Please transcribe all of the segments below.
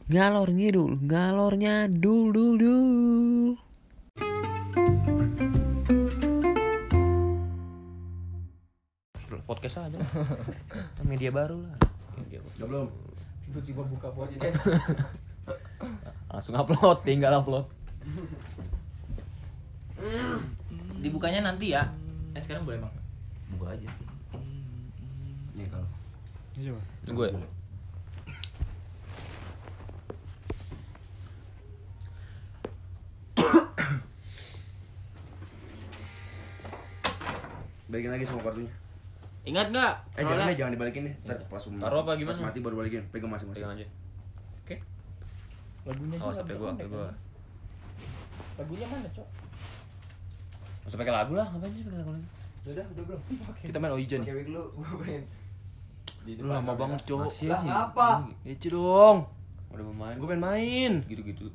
Ngalor ngidul, ngalornya dul dul dul. Podcast aja lah. Media baru lah. Udah belum? Tiba-tiba buka podcast. Langsung upload, tinggal upload. Dibukanya nanti ya. Sekarang boleh emang. Buka aja. Nih kalau. Iya. Gue. Balikin lagi semua kartunya. Ingat nggak? Jangan dibalikin deh. Ntar pas Taruh apa gimana? Pas mati baru balikin. Pegang masing-masing. Pegang aja. Oke. Lagunya Oh, juga sampai bisa gua. kan? Lagunya mana, Cok? Usah pakai lagu lah, ngapain sih pakai lagu lagi? Udah belum? Kita main Oijan nih. Pakai wig lu, gua main. Lu lama banget, Cok. Masih Lah aja. ngapa? Eci dong. Udah mau main. Gue pengen main. Gitu-gitu.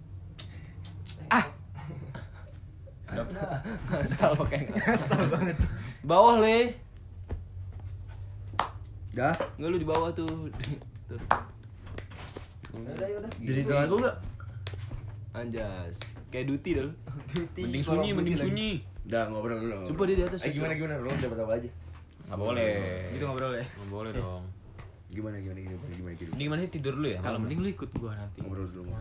Ngasal pakai ngasal banget. Bawah, Le. Dah. Enggak, lu di bawah tuh. Tuh. Yaudah. Jadi itu lagu enggak? Anjas. Kayak Duty dah lu. Mending sunyi. Udah ngobrol dulu. Coba dia di atas. Gimana lu dapat apa aja? Nggak boleh. Gitu ngobrol ya. Nggak boleh dong. Gimana? Ini gimana sih tidur dulu ya? Kalau mending lu ikut gua nanti. Ngobrol dulu.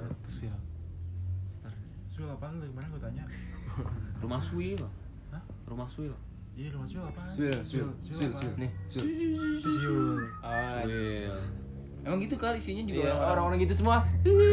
Swil apaan lu? Gimana gua tanya? Rumah Swil. Hah? Rumah Swil. Iya, lu Swil apaan? Swil. apaan? Nih, Swil. Swil. Swil. Emang gitu kali isinya juga Iya, orang-orang gitu semua.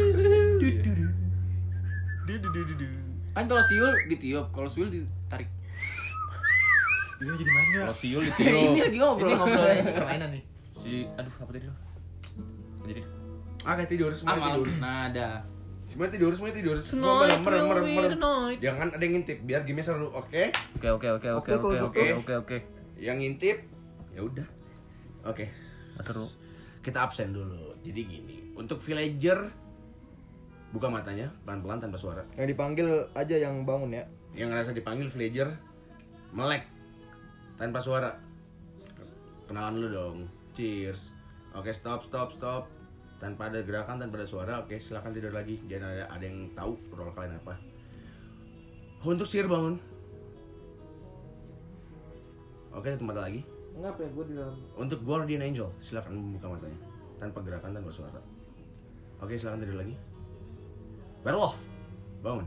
Kan kalau siul ditiup, kalau swil ditarik. Ini jadi main enggak? Kalau Swil Ini ditiup. lagi ngobrol. Ini ngobrol permainan nih. Aduh, apa tadi lu? Jadi. Kayak tidur, semua tidur. Nada. Semua tidur. Tonight Merem. will be the night. Jangan ada yang ngintip, biar game seru, oke? Oke. Yang ngintip, ya udah. Oke. Seru. Kita absen dulu. Jadi gini, untuk villager buka matanya pelan-pelan tanpa suara. Yang dipanggil aja yang bangun ya. Yang ngerasa dipanggil villager melek tanpa suara. Kenalan lu dong. Cheers. Oke, stop. Tanpa ada gerakan, tanpa ada suara. Oke, silakan tidur lagi. Jangan ada yang tahu role kalian apa. Untuk Sir bangun. Oke, satu mata lagi. Enggak ya, gue di dalam. Untuk Guardian Angel, silakan membuka matanya tanpa gerakan, tanpa suara. Oke, silakan tidur lagi. Werewolf, bangun.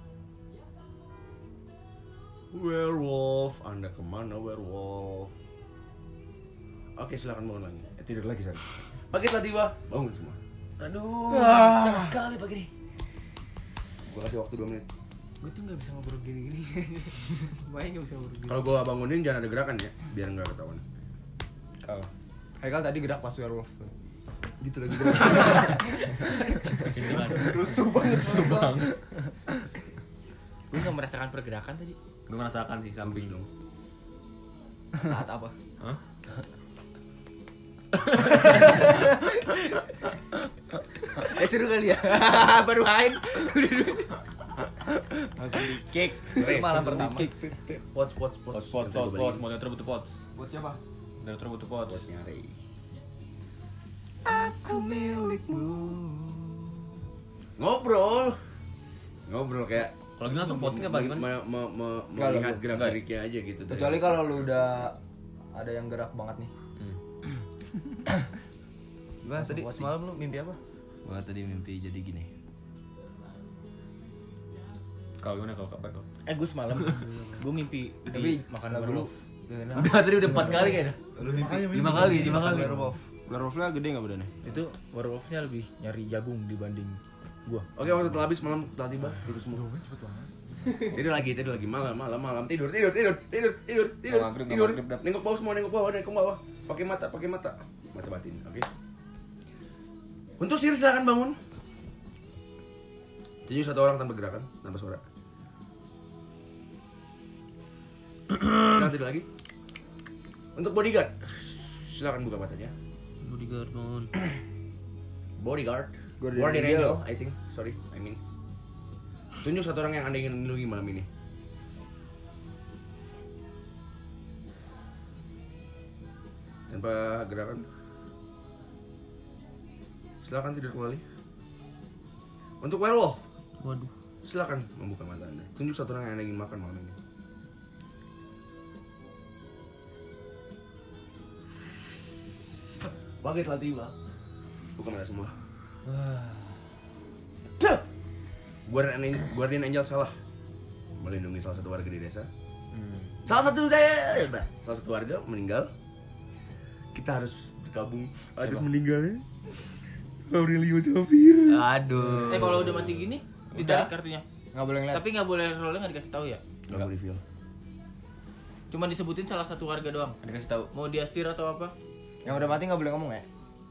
Werewolf, Anda kemana werewolf? Oke, silakan bangun lagi. Tidur lagi sana. Pagi telah tiba, bangun semua. Aduh, kencang sekali pagi nih. Gua kasih waktu 2 menit. Gue tuh nggak bisa ngobrol gini-gini. Main nggak bisa ngobrol gini. Kalau gua bangunin jangan ada gerakan ya, biar nggak ketahuan. Kalau Haikal tadi gerak pas werewolf. Gitu lagi. Rusuh banget. Gue nggak merasakan pergerakan tadi. Gue merasakan sih samping dong. Saat apa? Hah? Seru kali ya. Baru main. Langsung di kick. Malam pertama. Pots. Mau neutral butuh pot. Buat siapa? Neutral butuh pot. Pots nyari. Aku milikmu. Ngobrol kayak Kalau gini langsung voting apa gimana? melihat gerak-geriknya aja gitu. Kecuali kalau lu udah ada yang gerak banget nih. Gimana tadi semalam lu mimpi apa? Gua tadi mimpi jadi gini. Kalau gimana kalau kabar kalau? Gue semalam gue mimpi Tapi makan dulu Udah tadi udah 4 kali kayaknya. lu mimpi 5 kali. werewolfnya gede nggak badannya? Itu werewolfnya lebih nyari jagung dibanding gua. Oke, waktu telah habis, malam telah tiba. Tidur semua. Tidur lagi malam. Tidur. Nengok bawah. Pakai mata. Mata batin, oke. Untuk Sir silakan bangun. Tunjuk satu orang tanpa gerakan, tanpa suara. Silakan tidur lagi. Untuk bodyguard, silakan buka matanya. Bodyguard. Guardian Angel, I think. Sorry, I mean. Tunjuk satu orang yang Anda ingin lindungi malam ini. Tanpa gerakan. Silakan tidur kembali. Untuk werewolf, Waduh. silakan membuka mata Anda. Tunjuk satu orang yang Anda ingin makan malam ini. Waktu telah tiba. Buka mata semua. Guardian Angel salah melindungi salah satu warga di desa. Salah satu warga meninggal. Kita harus bergabung atas meninggalnya Aurelio Xavier. Aduh. Kalau udah mati gini, ditarik kartunya. Nggak boleh ngeliat. Tapi nggak boleh rollnya nggak dikasih tahu ya. Gak mau reveal. Cuma disebutin salah satu warga doang. Dikasih tahu. Mau dia setir atau apa? Yang udah mati nggak boleh ngomong ya.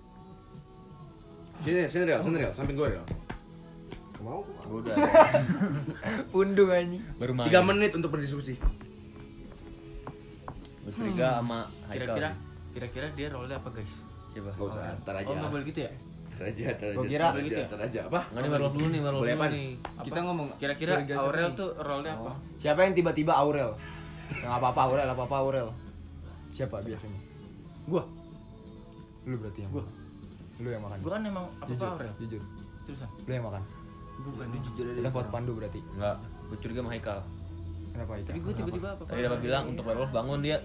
Sini real, samping gue real. Mau? Udah. Pundung anjing. Baru main. 3 menit untuk berdiskusi. Bertiga sama Haikal. Kira-kira dia rollnya apa guys? Siapa? Gak usah, ntar aja. Oh nggak boleh gitu ya? Ntar Gua kira- aja. Apa? Enggak nih werewolf dulu nih, werewolf Boleh dulu apaan? nih. Kita ngomong. Kira-kira curiga siapa Aurel nih? tuh rollnya apa? Siapa yang tiba-tiba Aurel? Yang apa-apa Aurel. Siapa biasanya? Gua. Lu berarti yang. Gua. Lu yang makan. Gua kan emang apa Jujur. Aurel? Jujur. Seriusan? Lu yang makan. Bukan jujur aja. Kita vote Pandu berarti. Enggak, gue curiga sama Haikal. Kenapa itu? Tapi gue tiba-tiba apa? Tadi dapat bilang untuk werewolf bangun dia.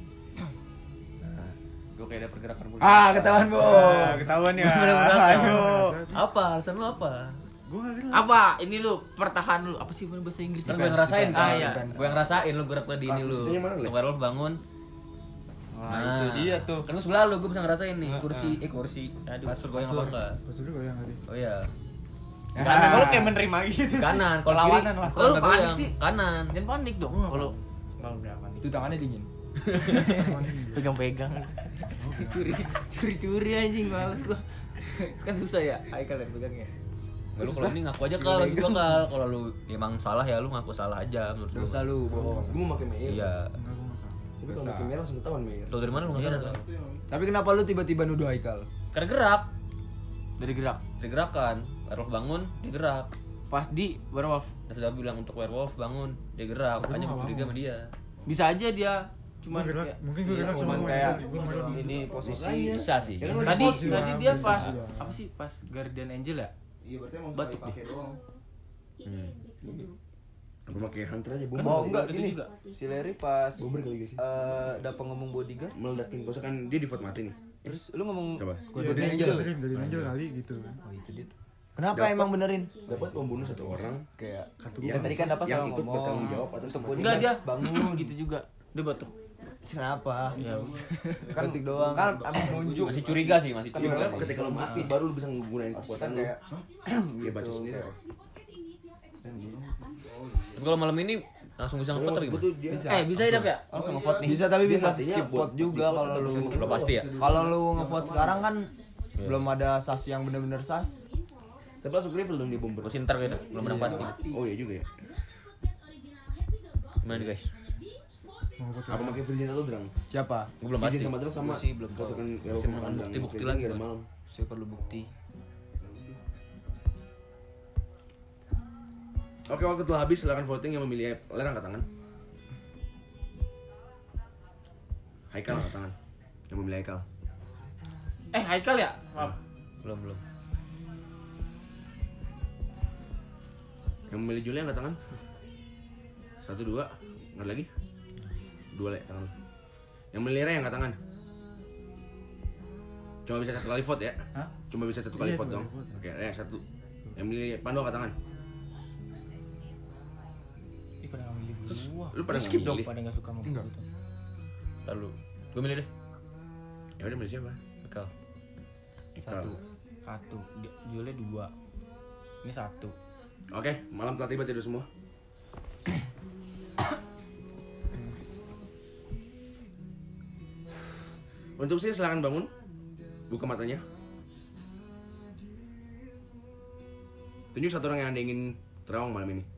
Gue kayak ada pergerakan bulu. Ketahuan, Bos. Ketahuan ya. Ayo. Apa? Alasan lu apa? Gue gak kenal. Apa? Ini lu pertahan lu. Apa sih bahasa Inggris? Kan gue yang ngerasain Ah kan. iya. Gue yang ngerasain lu gerak tadi ini lu. Posisinya mana, Le? Untuk werewolf bangun. Wah, itu dia tuh. Kan lu sebelah lu, gue bisa ngerasain nih kursi. Aduh, Kasur gue yang apa enggak? Pas dulu yang tadi. Oh iya. Kanan. Kalau kayak menerima gitu sih. Kanan, kalau kiri. Lawanan lah. Kalau lu nggak panik goyang. sih. Kanan. Jangan panik dong. Gua nggak Kalau nggak panik. Itu tangannya dingin. Pegang-pegang. Curi-curi anjing males gua. Kan susah ya, Haikal yang pegangnya. Nggak, lu kalau ini ngaku aja Kal, maksud gua Kal. Kalau lu emang salah ya lu ngaku salah aja menurut Gak gua. usah lu bohong. Gue mau pakai Meyer. Iya. Enggak, gue gak salah. Tapi kalau pakai Meyer langsung ketahuan Meyer. Tahu dari mana lu nggak sadar Kal? Tapi kenapa lu tiba-tiba nuduh Haikal? Karena gerak. Dari gerak. Dari gerakan. Werewolf bangun, dia gerak. Pas di werewolf. Dan sudah bilang untuk werewolf bangun, dia gerak. Makanya gue curiga sama dia. Bisa aja dia cuman Gua gerak, kayak- mungkin gue gerak cuman cuma kayak ini posisi bisa sih. tadi Iya, dia bisa pas juga. apa sih pas Guardian Angel ya? Iya, berarti emang Batuk pakai dia. doang. Hmm. Apa pakai hunter aja, Kan Oh, Bom. enggak gitu gini. juga. Si Larry pas Bomber kali guys. dapat ngomong bodyguard, Meledakin kau kan dia di vote mati nih. terus lu ngomong Coba. Iya, dari Angel kali gitu kan. oh itu dia tuh. Kenapa emang benerin? Dapat membunuh satu orang. Kayak Yang tadi kan dapat yang sama ikut ngomong bertanggung jawab atas untuk kematian. Enggak dia bangun. gitu juga. Dia batuk. kenapa? Ya. Kan batik doang. Kan abis nunjuk. Masih curiga sih, masih Iya, curiga. kan ketika lo mati baru lo bisa menggunakan kekuatan lo. kayak Dia baca sendiri. Tapi kalau malam ini langsung bisa ngevote atau Gue gimana? tuh dia Bisa ya Dap ya? Langsung ngevote nih. Bisa tapi Dia bisa matinya skip buat vote juga pas di vote kalau atau lu. bisa Belum pasti ya. Kalau lu ngevote sekarang kan belum ada sas yang bener-bener sas. Tapi langsung reveal dong dia bomber. Terus ntar gitu, belum menang pasti. Oh iya juga ya. Gimana nih guys? Mau foto Apa pakai Virgin atau Drang? Siapa? Gue belum Virgin pasti. sama Drang sama. Gua sih belum tahu. Pasukan Masih menemukan bukti-bukti lagi dari kan. malam. Saya perlu bukti. Oke, waktu telah habis, silakan voting yang memilih Ler angkat tangan. Haikal angkat tangan. Yang memilih Haikal. Haikal ya? Maaf. Belum. Yang memilih Julia angkat tangan. 1 2. Angkat lagi. 2 Le tangan. Yang memilih Ray angkat tangan. Cuma bisa 1 kali vote ya. Hah? Cuma bisa 1 kali Iya, vote 1 dong. kali vote. Oke, Ray 1. Yang memilih Pandu angkat tangan. Ih, pada nggak milih gua. Lu pada skip nggak milih? Pada nggak suka sama Enggak. gua tuh. Lalu gue milih deh. Ya udah milih siapa? Bekal. Haikal. Satu. Jualnya 2. Ini 1. Oke, malam telah tiba tidur semua. Untuk sih silakan bangun. Buka matanya. Tunjuk satu orang yang Anda ingin terawang malam ini.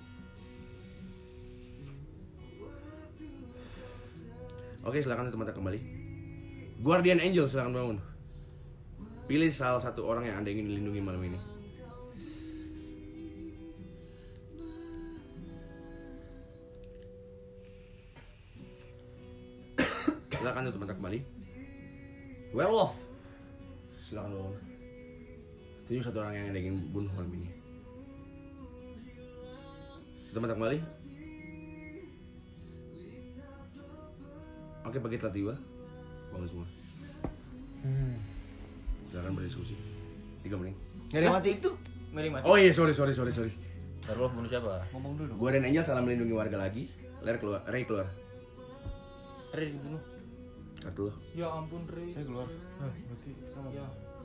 Oke, silakan tutup mata kembali. Guardian Angel silakan bangun. Pilih salah satu orang yang Anda ingin lindungi malam ini. Silakan tutup mata kembali. Werewolf. Silakan bangun. Tunjuk satu orang yang Anda ingin bunuh malam ini. Kita mantap kembali. Oke, pagi telah tiba. Bangun semua. Silakan berdiskusi. 3 menit. Nggak ada yang mati itu. Nggak ada yang mati. Oh iya, sorry. Werewolf bunuh siapa? Ngomong dulu. Gua dan Angel salah melindungi warga lagi. Ray keluar. Ray dibunuh. Kartu lo. Ya ampun Ray. Saya keluar. Berarti sama. Ya.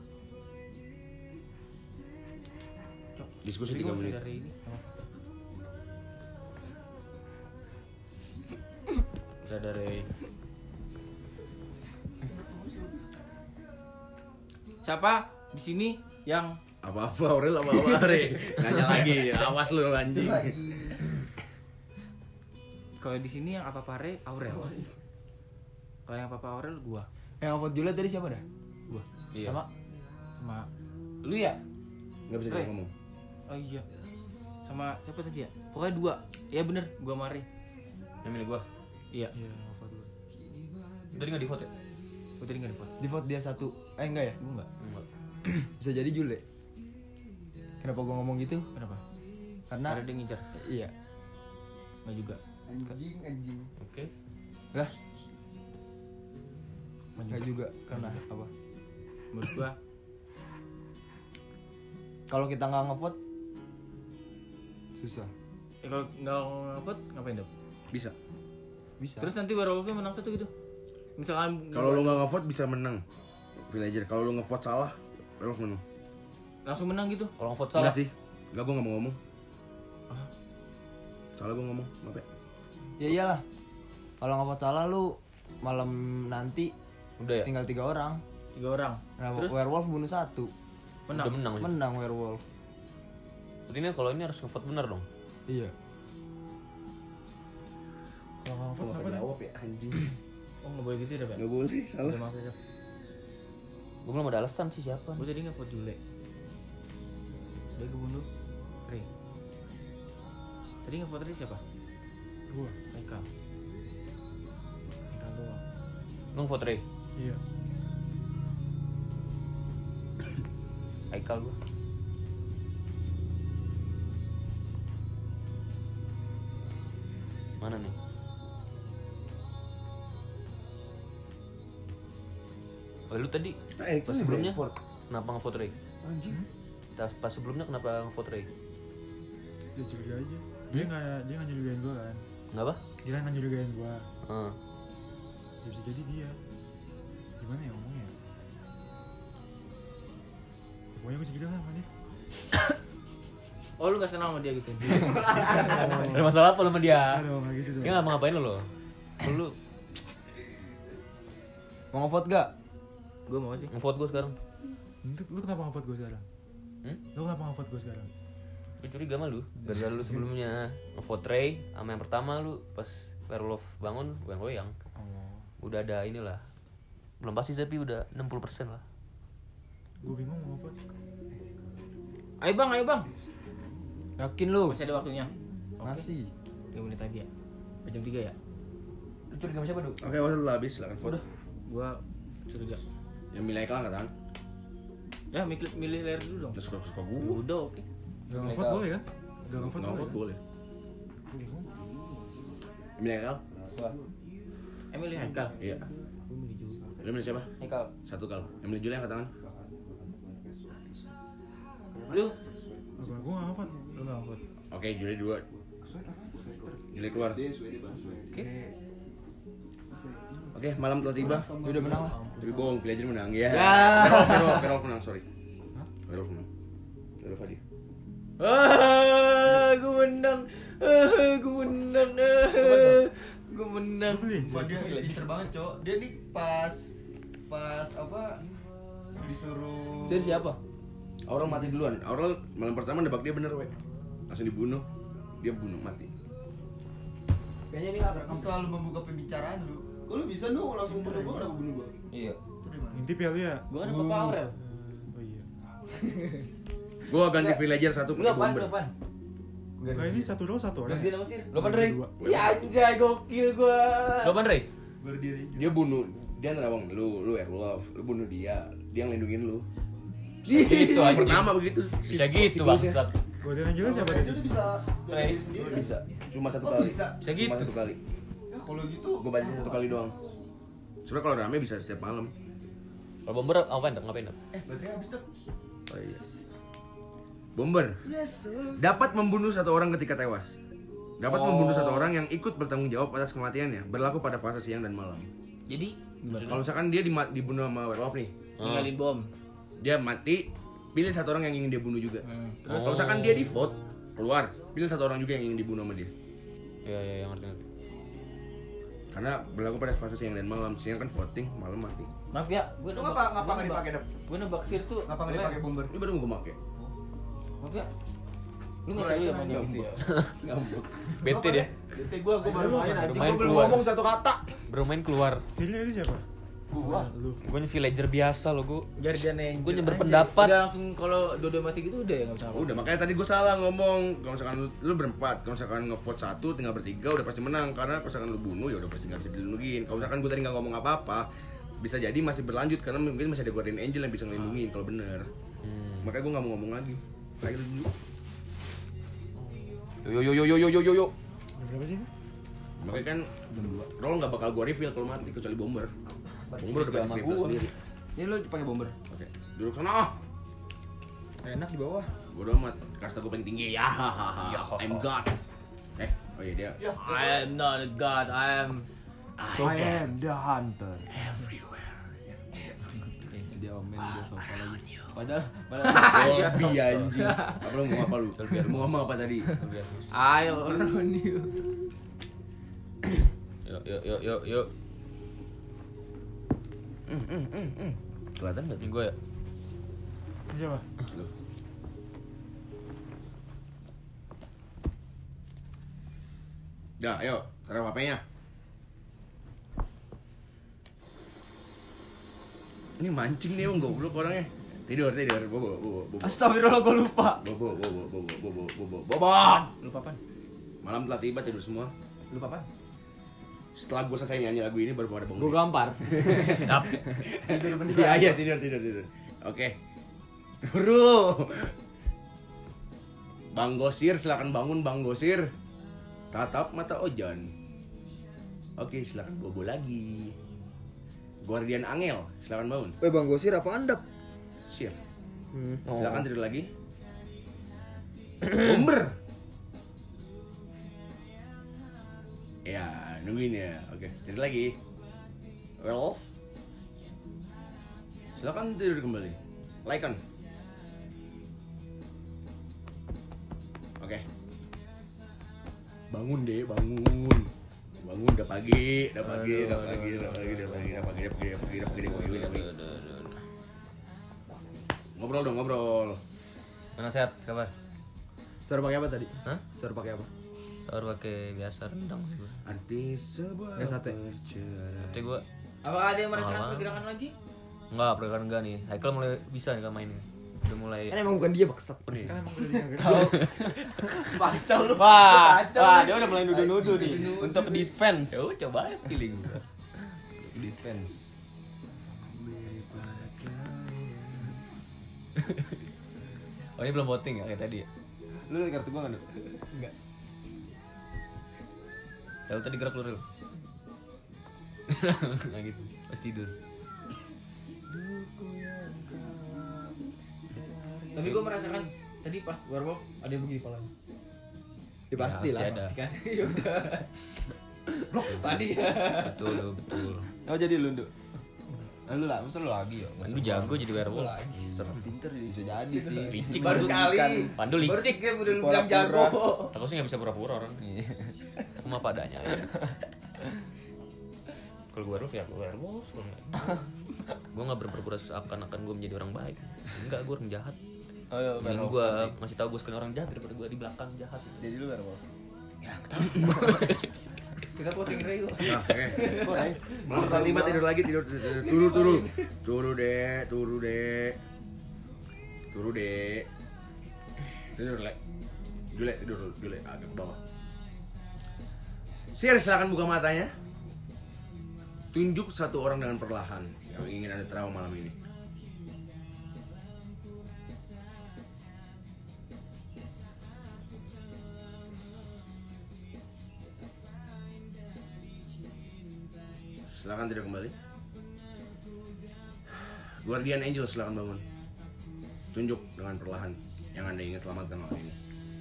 Diskusi Tapi 3 gua menit. masih ada Ray ini. Udah dari Siapa di sini yang Apa-apa Aurel apa-apa Ray. Nanya lagi. Awas lu anjing. kalau di sini yang apa Ray Aurel. Kalau yang apa Aurel gua. Yang vote Juliet tadi siapa dah? Gua. iya. Sama Lu ya? Enggak bisa Ray. dia ngomong. oh iya. Sama siapa tadi ya? Pokoknya 2. Ya bener, gua sama Ray. Yang milih gua. Iya. Iya, apa dulu. Tadi enggak di vote ya? Gua tadi enggak di vote. Di vote dia 1. Enggak ya? Gua enggak. Enggak. Bisa jadi Jule. Kenapa gua ngomong gitu? Kenapa? Karena Ada yang ngincar. iya. Enggak juga. Anjing. Oke. Lah. Enggak juga. Karena apa? Menurut gua Kalau kita nggak ngevote susah. kalau nggak ngevote ngapain dong? Bisa. Bisa. Terus nanti werewolfnya menang 1 gitu. Misalkan Kalau lu enggak ngevote bisa menang. Villager. Kalau lu ngevote salah, Werewolf menang. langsung menang gitu. Kalau vote salah. Enggak sih. Enggak, gua enggak mau ngomong. Salah gua ngomong. Maaf ya. Ya iyalah. Kalau ngevote salah lu malam nanti Udah ya? tinggal 3 orang. 3 orang. Nah, Terus werewolf bunuh 1. menang. Udah menang. Menang. Menang werewolf. Berarti ini kalau ini harus ngevote benar dong. Iya. Kalau nggak vote apa dah? Jawab ya anjing. Oh nggak boleh gitu ya, Pak? Enggak boleh, salah. Udah maaf ya, Dap. Gue belum ada alasan sih siapa. Gue tadi nggak vote Jule. Dia kebunuh Ray. Tadi nggak vote Ray siapa? Gua. Haikal. Haikal doang. Lu ngevote Ray. Iya. Haikal gua. Mana nih? Oh, lu tadi pas sebelumnya kenapa ngevote Ray? Anjing. Pas sebelumnya kenapa ngevote Ray? Dia curiga aja. Dia nggak nyurigain gua kan. Enggak apa? Dia nggak nyurigain gua. Heeh. Ya bisa jadi dia. Gimana ya ngomongnya? Pokoknya gua curiga lah sama dia. Oh lu gak senang sama dia gitu? Ada masalah apa lu sama dia? Aduh, nggak gitu dong. Dia enggak mau ngapain lu? Lu Mau ngevote gak? Gue mau sih. ngevote gua sekarang. Lu kenapa ngevote gua sekarang? Lu kenapa ngevote gua sekarang? Gue curiga sama lu. Gara-gara lu sebelumnya ngevote Ray sama yang pertama lu pas Werewolf bangun goyang-goyang. Oh. Udah ada inilah. Belum pasti tapi udah 60% lah. Gua bingung mau ngevote. Ayo bang. Yakin lu? Masih ada waktunya. Masih. 3 menit lagi ya. Jam 3 ya. Lu curiga sama siapa, Du? Oke, waktu telah habis, silakan vote. Gua curiga. Yang milih Haikal angkat tangan. Ya milih layar dulu dong. Terus suka Ya gua. udah oke. Gak ngevote boleh kan? Gak ngevote Enggak boleh vote kan? boleh. Gua bingung. Yang milih Haikal? Milih Haikal. Iya. Gue milih juga. Lu milih siapa? Haikal. 1 kal. Yang milih Julia angkat tangan. Lu Apa? Gua nggak ngevote. lu nggak vote. Oke, Julia 2. Julia keluar. Oke, malam telah tiba. Ya udah menang lah. Tapi bohong, Villager menang ya. Werewolf menang, sorry. Werewolf menang. Werewolf hadiah. Gue menang. Gue menang. Wah, dia pinter banget, Cok. Dia nih pas apa disuruh Sir siapa? Aurel mati duluan. Aurel malam pertama nebak dia bener, we. Langsung dibunuh. Dia bunuh mati. Kayaknya ini nggak kerekam. selalu membuka pembicaraan lu. Kok lu bisa nu langsung bunuh gua, kenapa bunuh gua? Iya. Ngintip ya lu ya? Gue kan Papa Aurel. Oh iya. Gua ganti Villager 1 Lu pakai apaan? bomber. Lu apaan? Enggak, ini satu doang satu orang. Ganti nama Sir. Lu apaan, Ray? Dua. Ya anjay gokil gua. Lu apaan, Ray? Berdiri. Dia bunuh. Dia nerawang lu Werewolf. Lu bunuh dia. Dia yang lindungin lu. Gitu Yang aja. pertama begitu. Bisa gitu Siklusnya. bangsat. Guardian Angel siapa Itu tadi? bisa Ray. diri sendiri. Bisa. Cuma satu Oh, kali. bisa. Bisa gitu. Cuma satu kali. Ya kalau gitu. Gue baca satu kali doang. Sebenarnya kalau rame bisa setiap malam. Kalau bomber ngapain? Ngapain? Baterai habis dong. Oh iya. Bomber Yes. dapat membunuh satu orang ketika tewas. Dapat membunuh satu orang yang ikut bertanggung jawab atas kematiannya. Berlaku pada fase siang dan malam. Jadi Kalau misalkan dia dibunuh sama werewolf nih, ninggalin bom. dia mati, pilih satu orang yang ingin dia bunuh juga. Kalau misalkan dia di vote keluar, pilih satu orang juga yang ingin dibunuh sama dia. Iya, ngerti. Karena berlaku pada fase siang dan malam. Siang kan voting, malam mati. Maaf ya, gue Lu ngapa nggak dipakai dap? Gue nebak sir tuh. Ngapa nggak dipakai bomber? Ini baru mau gue pakai. Maaf ya. Lu nggak seru ya main game itu ya? Ngambek. Bete dia. Bete gua baru main anjing. Main Gua belum keluar. ngomong satu kata. Baru main keluar. Sirnya itu siapa? Gua. Lu. Gue nih villager biasa lo, gue. Guardian Angel. Gue berpendapat. Udah langsung kalau dua mati gitu udah ya nggak bisa. Udah makanya tadi gue salah ngomong. Kalau misalkan lu berempat, kalau misalkan ngevote satu tinggal bertiga udah pasti menang. Karena kalau misalkan lu bunuh ya udah pasti nggak bisa dilindungin. Kalau misalkan gue tadi nggak ngomong apa-apa, bisa jadi masih berlanjut karena mungkin masih ada Guardian Angel yang bisa ngelindungin kalau bener. Makanya gue nggak mau ngomong lagi. Kayak dulu. Yo. Jam berapa sih ini? Makanya kan Roll nggak bakal gue reveal kalau mati kecuali bomber. Bomber udah pasti reveal sendiri. Ini lu pakai bomber. Oke, duduk sana. Enak di bawah. Bodo amat, kasta gue paling tinggi ya. I'm God. Oh iya dia. I am not a god, I am I am the hunter. Everywhere. Dia omen dia sofa lagi. Padahal Dolby anjing. Apa lu mau apa lu? Lu mau ngomong apa tadi? I own you. Yo. Kelihatan nggak Ini tuh? gue ya. Ini siapa? Lu. Dah, ayo, taruh HP-nya. Ini mancing nih emang goblok orangnya. Tidur, bobo. Astagfirullah gua lupa. Bobo. Lupa apa? Malam telah tiba tidur semua. Lupa apa? Setelah gue selesai nyanyi lagu ini baru pada bangun. Gue gampar. Iya, tidur. Oke. Turu. Bang Gosir, silakan bangun Bang Gosir. Tatap mata Ojan. Oke, silakan bobo lagi. Guardian Angel, silakan bangun. Bang Gosir apa Anda? Sir. Silakan tidur lagi. Bomber. Ya, nungguin ya. Oke, tidur lagi. Werewolf. Silakan tidur kembali. Lycan. Oke. Bangun deh, bangun. Bangun udah pagi. Ngobrol. Mana sehat kabar? Suara pakai apa tadi? Hah? Suara pakai apa? Sahur pakai biasa rendang sih gue. Arti sebuah Nggak sate. perceraian. Tapi gue Apa ada yang merasakan Malam. pergerakan lagi? enggak, pergerakan enggak nih. Haikal mulai bisa nih kalau main nih. Udah mulai. Kan emang bukan dia baksat. Nih. Kan emang udah diangkat. Kacau lu. Wah, Kacau wah lu. dia udah mulai nuduh-nuduh nih untuk defense. Ya udah coba aja feeling gue. Defense. Oh ini belum voting ya kayak tadi ya? Lu liat kartu gua enggak? Enggak. Rel tadi gerak lu Rel. Nggak gitu, pas tidur. Tapi gue merasakan tadi pas werewolf ada yang begini palanya. Ya pasti lah. ada. Pasti kan? Ya udah. Blok tadi ya. Betul. Oh jadi lu Nduk. Lu lah, masa lu lagi ya? Pandu jago jadi werewolf. Serem pinter bisa jadi sih. Licik Baru Pandu. sekali. Pandu Baru licik. cek ya udah lu bilang jago. Aku sih nggak bisa pura-pura orang. Aku mah padanya. Kalau gue werewolf ya gue werewolf. Gue nggak berpura-pura seakan-akan gue menjadi orang baik. Enggak, gue orang jahat. Oh iya, Mending gue ngasih tahu gue sekarang orang jahat daripada gue di belakang jahat. Jadi lu werewolf. Kita voting Ray kok. Nah, oke. Malam telah tiba tidur lagi, tidur. Turu deh. Tidur, Lek. Jule, agak ke bawah. Sir, silakan buka matanya. Tunjuk satu orang dengan perlahan yang ingin Anda trauma malam ini. silakan tidur kembali. Guardian Angel silakan bangun. Tunjuk dengan perlahan yang Anda ingin selamatkan malam ini.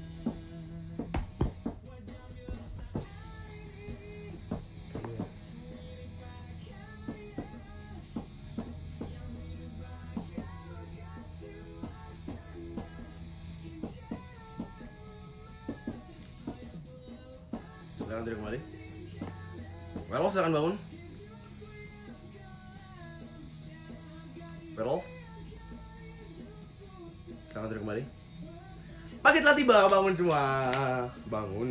Silakan tidur kembali. Werewolf silakan bangun. Werewolf silakan tidur kembali. Paket telah tiba, bangun semua. Bangun.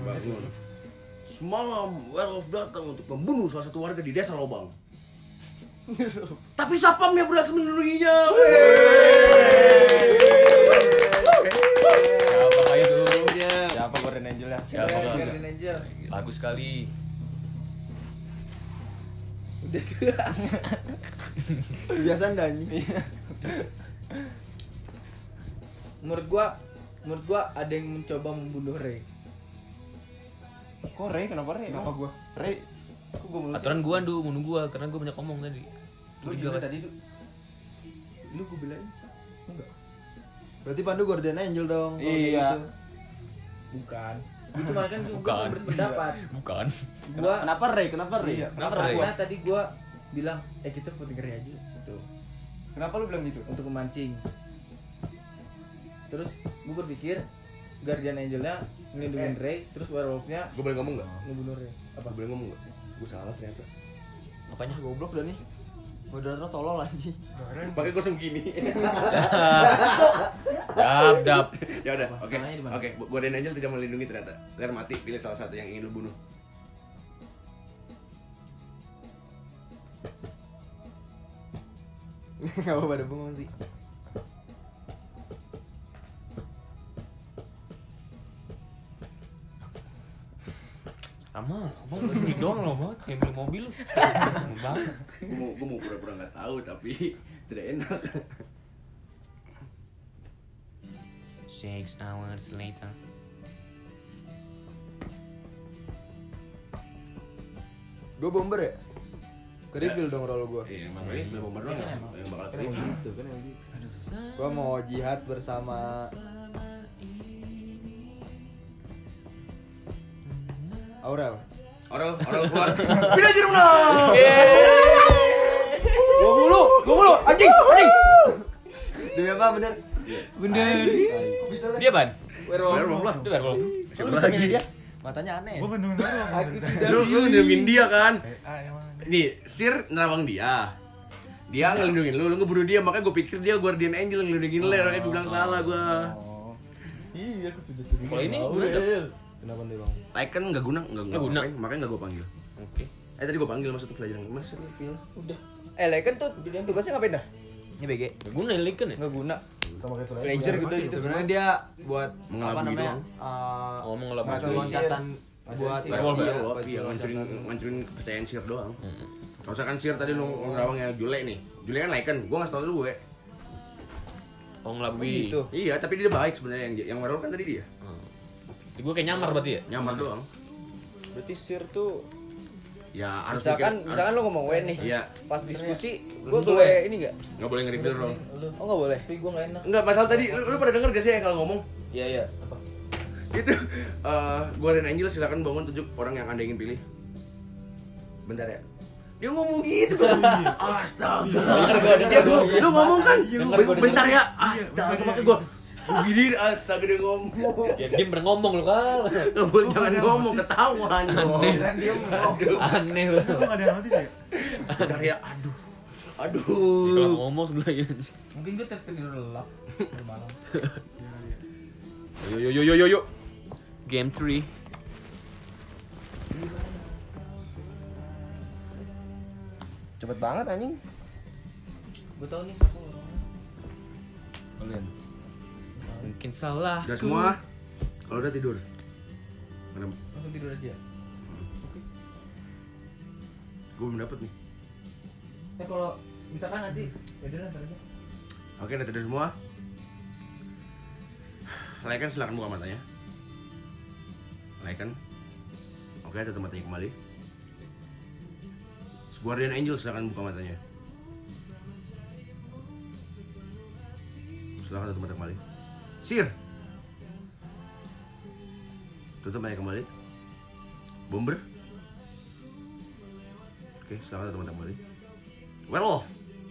Semalam werewolf datang untuk membunuh salah satu warga di desa Lobang. Tapi sapamnya berhasil melindunginya. Siapa itu? Siapa Guardian Angel ya? Siapa kah? Guardian Angel. Bagus sekali. Udah tua. Kebiasaan dah anjing. Menurut gua ada yang mencoba membunuh Ray. Kok Ray? Kenapa Ray? Kenapa gua? Ray? Kok gua belum Aturan gua bunuh gua karena gua banyak ngomong tadi. Lu Curiga juga pas. tadi tuh. Lu gua bilang enggak. Berarti Pandu Guardian Angel dong. kalau kayak Iya. gitu. Bukan. Itu makanya kan gua Bukan. berpendapat. Bukan. Gua Kenapa Ray? Kenapa Ray? Iya. Kenapa karena Ray? tadi gua bilang kita voting Ray aja gitu. Kenapa lu bilang gitu? Untuk memancing. Terus gua berpikir Guardian Angelnya ngelindungin Ray, terus werewolfnya Gue boleh ngomong nggak? ngebunuh Ray. Gue boleh ngomong nggak? Gue salah ternyata. Apanya? Goblok dah nih. Moderator tolol anjing. Pakai gue segini. Dap. Ya udah, oke. Masalahnya di mana? Oke, Guardian Angel tidak melindungi ternyata. Biar mati, pilih salah satu yang ingin lu bunuh. Enggak apa pada bengong sih. Amal ini doang lo banget kayak beli mobil lu. Banget. Gue mau pura-pura nggak tahu tapi tidak enak. 6 hours later. Gue bomber ya? Ke reveal dong role gue. Iya, emang film bomber doang yang bakal terima. Gitu kan yang gitu. Gue mau jihad bersama Aurel. Orang keluar. Pindah jeruk nah. Gue mulu, anjing. Demi apa bener? Bener. Dia ban. Werewolf lah. Dia werewolf. Siapa lagi? dia? Matanya aneh. Gua ngundung Lu ngelindungin dia kan? emang. Nih, Sir nerawang dia. Dia ngelindungin lu ngebunuh dia, makanya gue pikir dia Guardian Angel ngelindungin lu, makanya gue bilang salah gue. Iya, aku sudah curiga. Kalau ini guna. Kenapa nih, Bang? Like kan nggak guna, nggak Nggak guna. makanya nggak gue panggil. Oke. Tadi gue panggil maksudnya pelajaran mas Sir pilih. Udah. Kan tuh tugasnya ngapain dah? Ini BG. Gak guna yang Lycan ya? Nggak guna. Sama kayak Ray. Flanger gitu gitu. Sebenarnya dia buat apa Mengelabui namanya? doang. Oh, mengelabui. Batu loncatan buat Werewolf ya? Werewolf, iya, ngancurin kepercayaan Sir doang. Kalau misalkan Sir tadi lu ngerawangnya Jule nih, Jule kan Lycan, gue nggak tau dulu gue. Oh ngelabui. Gitu. Iya, tapi dia baik sebenarnya yang werewolf kan tadi dia. Gue kayak nyamar berarti ya? Nyamar doang. Berarti Sir tuh Ya harus misalkan mikir- lu ngomong Wen nih. Iya, Pas diskusi, gue Belum boleh ini enggak? nggak boleh nge-reveal role. Oh enggak boleh. Tapi gua enggak enak. Enggak, masalah tadi lu pada denger gak sih yang kalau ngomong? Iya. Apa? Itu Guardian Angel silakan bangun tunjuk orang yang Anda ingin pilih. Bentar ya. Dia ngomong gitu kan. Astaga. Lu ngomong kan? Bentar ya. Astaga, makanya gua gini astaga dia ngomong. Ya dia pernah ngomong lo kal. Nggak boleh jangan ngomong ketahuan dong. Aneh lo. Kok nggak ada yang notice ya? Bentar ya. Aduh. Kalau ngomong sebelahnya. Mungkin gua tertidur lelap di malam. Yo. Game 3. Cepet banget anjing. Gua tahu nih siapa orangnya. Kalian. Mungkin salah. Udah semua. Kalau udah tidur. Mana? Langsung tidur aja. Gue belum dapet nih. Kalau misalkan nanti ya udah ntar aja. Oke, udah tidur semua. Lycan silakan buka matanya. Lycan. Oke, tutup matanya kembali. Guardian Angel silakan buka matanya. Silakan tutup mata kembali. Sir. Tutup mata kembali. Bomber. Oke, silakan tutup mata kembali. Werewolf.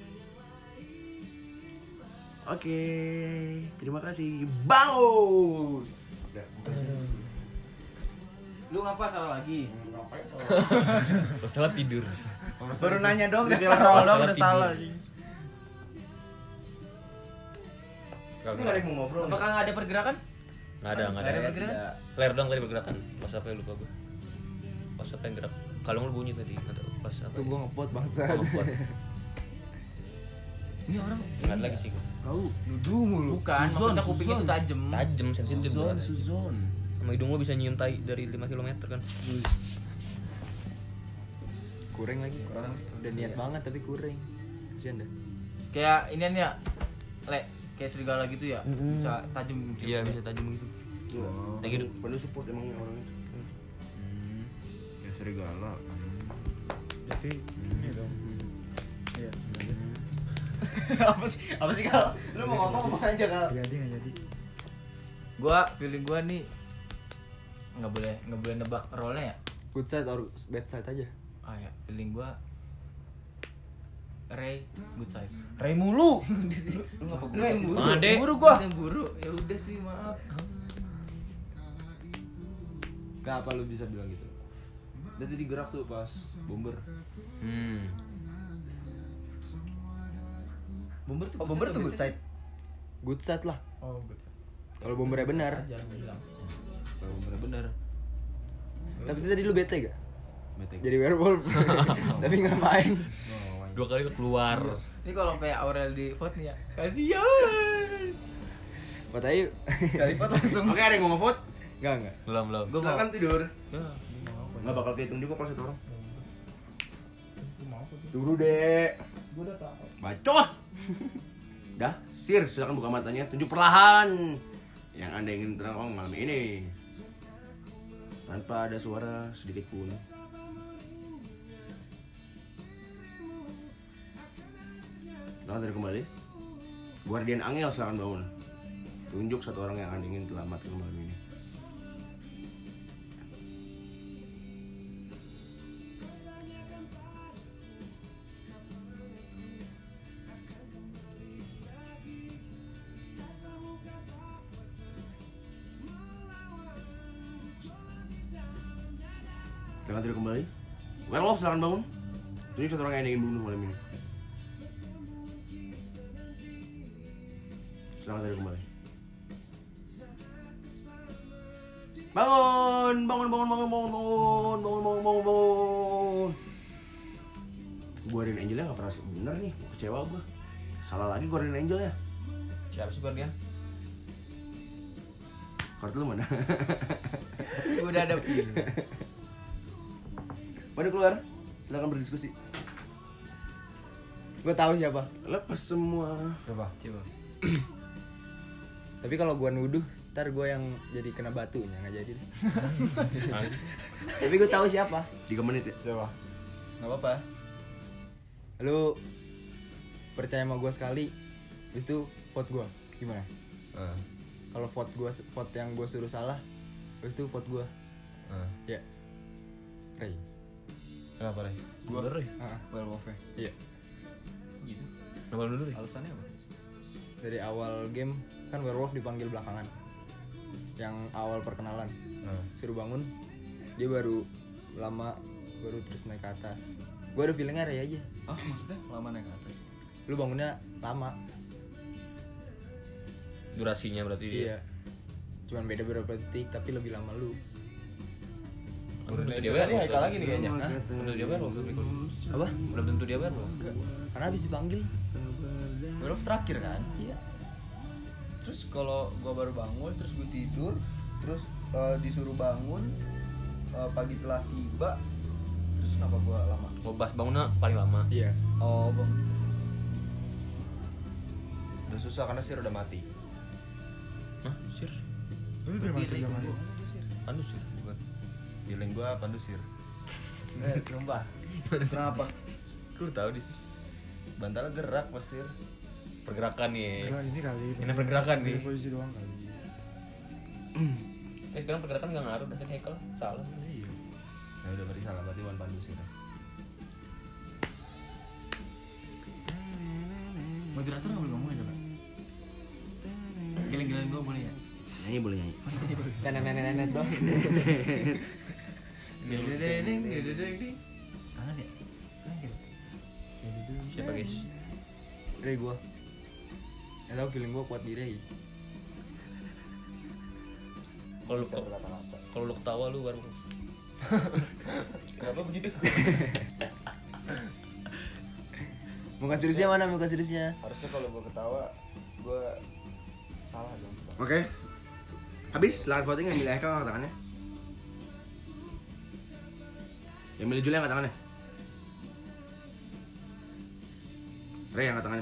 Oke, terima kasih. Bangus. Lu ngapa salah lagi? Pesawat tidur. Baru nanya dong, udah Detail salah. roll dong Salah udah tidur. salah. Ini nggak ada yang mau ngobrol. Apakah nggak ada pergerakan? Nggak ada Saya pergerakan? tidak. Flare doang tadi pergerakan. Pas apa ya lupa gue. Pas apa yang gerak? Kalung lu bunyi tadi, nggak tahu. Pas apa? Tuh ya? gua ngepot bangsa. Oh, ngepot. Ini orang Nggak ada lagi sih gue. Tahu, nuduh mulu. bukan, maksudnya kuping itu tajam. Tajem, sensitif Suzon, banget. Suzon. Sama hidung lo bisa nyium tai dari 5 km kan. Kurang lagi. Orang udah niat banget tapi kurang. Kasian dah. Kayak inian ya, le, kayak serigala gitu ya, bisa tajam. Iya, bisa tajam gitu. Kayak gitu. Penuh support emangnya orang itu. Ya serigala. Jadi ini dong. Iya. Apa sih Kal? Lu mau ngomong aja Kal. Jadi nggak jadi. Gua feeling gua nih nggak boleh nebak role-nya ya. Good side or bad side aja. Ah ya, feeling gua Ray good side. Ray mulu. Lu ngapa Lu yang buru. Made. Buru gua. Yang buru. Ya udah sih, maaf. Kenapa lu bisa bilang gitu? Dia tadi gerak tuh pas bomber. Bomber tuh. Oh, Bomber tuh good side. Good side lah. Oh, good side. Kalau bombernya benar. Jangan bilang. Kalau bombernya bener. Tapi tadi lu bete gak? Bete. Jadi werewolf. Tapi nggak main. 2 kali keluar. Ini kalau kayak Aurel di vote nih ya. Kasihan. Buat ayo. Kali foto langsung. Oke, ada yang mau nge-vote? Enggak. Belum. Gua mau. Silakan tidur. Ya, Enggak bakal kehitung juga kalau satu orang. gua mau kok. Tunggu, Dek. Gua udah tahu. Bacot. Dah, Sir, silakan buka matanya. Tunjuk perlahan yang Anda ingin terang malam ini. Tanpa ada suara sedikit pun. Silakan tidur kembali. Guardian Angel silakan bangun. Tunjuk satu orang yang Anda ingin selamatkan malam ini. Silakan tidur kembali. Werewolf silakan bangun. Tunjuk satu orang yang Anda ingin bunuh malam ini. Silakan tidur kembali. Bangun. Guardian Angelnya nggak pernah bener nih, kecewa gua. Salah lagi Guardian Angelnya. Siapa sih Guardian? Kartu lu mana? Gua udah ada feeling. Pada keluar. Silakan berdiskusi. Gue tahu siapa. Lepas semua. Coba. Tapi kalau gua nuduh, ntar gue yang jadi kena batunya nggak jadi. deh. Tapi gue tahu siapa. 3 menit ya. Coba. Enggak apa-apa. Lu percaya sama gue sekali, habis itu vote gue gimana? Kalau vote yang gue suruh salah, habis itu vote gue. Ya. Ray. Kenapa, Ray? Gua Ah, werewolf-nya. iya. Nama lu dulu deh. Alasannya apa? Dari awal game kan werewolf dipanggil belakangan. Yang awal perkenalan. Suruh bangun, dia baru terus naik ke atas. Gue ada feelingnya Ray aja. Ah, maksudnya lama naik ke atas. Lu bangunnya lama. Durasinya berarti dia. Iya. Cuman beda beberapa detik tapi lebih lama lu. Belum tentu dia Ini werewolf. Haikal lagi nih kayaknya. Hah? Belum tentu dia werewolf. Apa? Belum tentu dia werewolf. Karena habis dipanggil. Werewolf terakhir kan? Iya. Terus kalau gua baru bangun, terus gua tidur, terus disuruh bangun, pagi telah tiba, terus kenapa gua lama? Mau bahas bangunnya paling lama. Iya. Oh, bang. Udah susah karena Sir udah mati. Hah? Sir? Lu dari mana sih zaman? Anu sih bukan. Feeling gua Pandu Sir. Sumpah. Kenapa? Lu tahu di sini. Bantalnya gerak pasir. Pergerakan nih. Enggak, ini kali. Ini pergerakan nih. Posisi doang kali. Sekarang pergerakan nggak ngaruh dari Hekel. Salah. Iya. Ya udah berarti salah, berarti Wan Pandus itu. Moderator nggak boleh ngomong aja Pak. Giling-giling gue boleh ya. Nyanyi boleh nyanyi. Nenek dong. Tangan ya. Siapa guys? Ray gua. Tahu feeling gua kuat di Ray. Kalau lu ketawa lu baru. Kenapa begitu? Muka seriusnya mana muka seriusnya? Harusnya kalau gua ketawa gua salah dong. Oke. Habis silakan voting, yang milih Eka angkat tangannya. Yang milih Julia angkat tangannya. Ray angkat tangannya.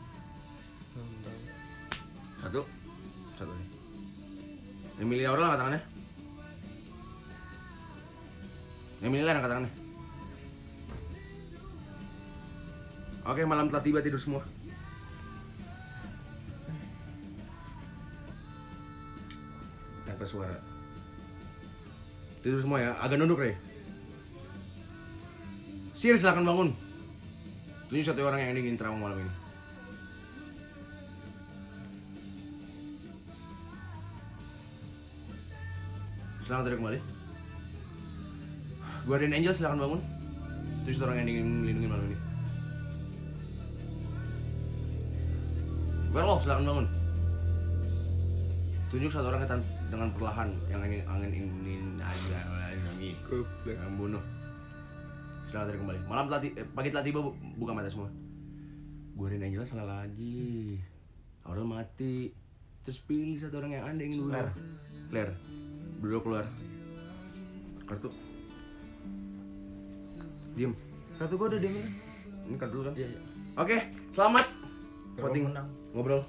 Satu. Satu nih. Yang milih Aurel angkat tangannya. Yang milih Len angkat tangannya. Oke, malam telah tiba, tidur semua. Tanpa suara. Tidur semua ya, agak nunduk Ray. Sir, silakan bangun. Tunjuk satu orang yang ingin trauma malam ini. Selamat tidur kembali. Guardian Angel silakan bangun. Tunjuk satu orang yang ingin melindungi malam ini. Werewolf silakan bangun. Tunjuk satu orang dengan perlahan yang ingin yang bunuh. Selamat tidur kembali. Pagi telah tiba, buka mata semua. Guardian Angel salah lagi. Aurel mati. Terus pilih satu orang yang anda ingin bunuh. Claire. Berdua keluar. Kartu. Diem. Kartu gua udah diem. Ini kartu kan? Iya. Oke, selamat. Voting menang. Ngobrol.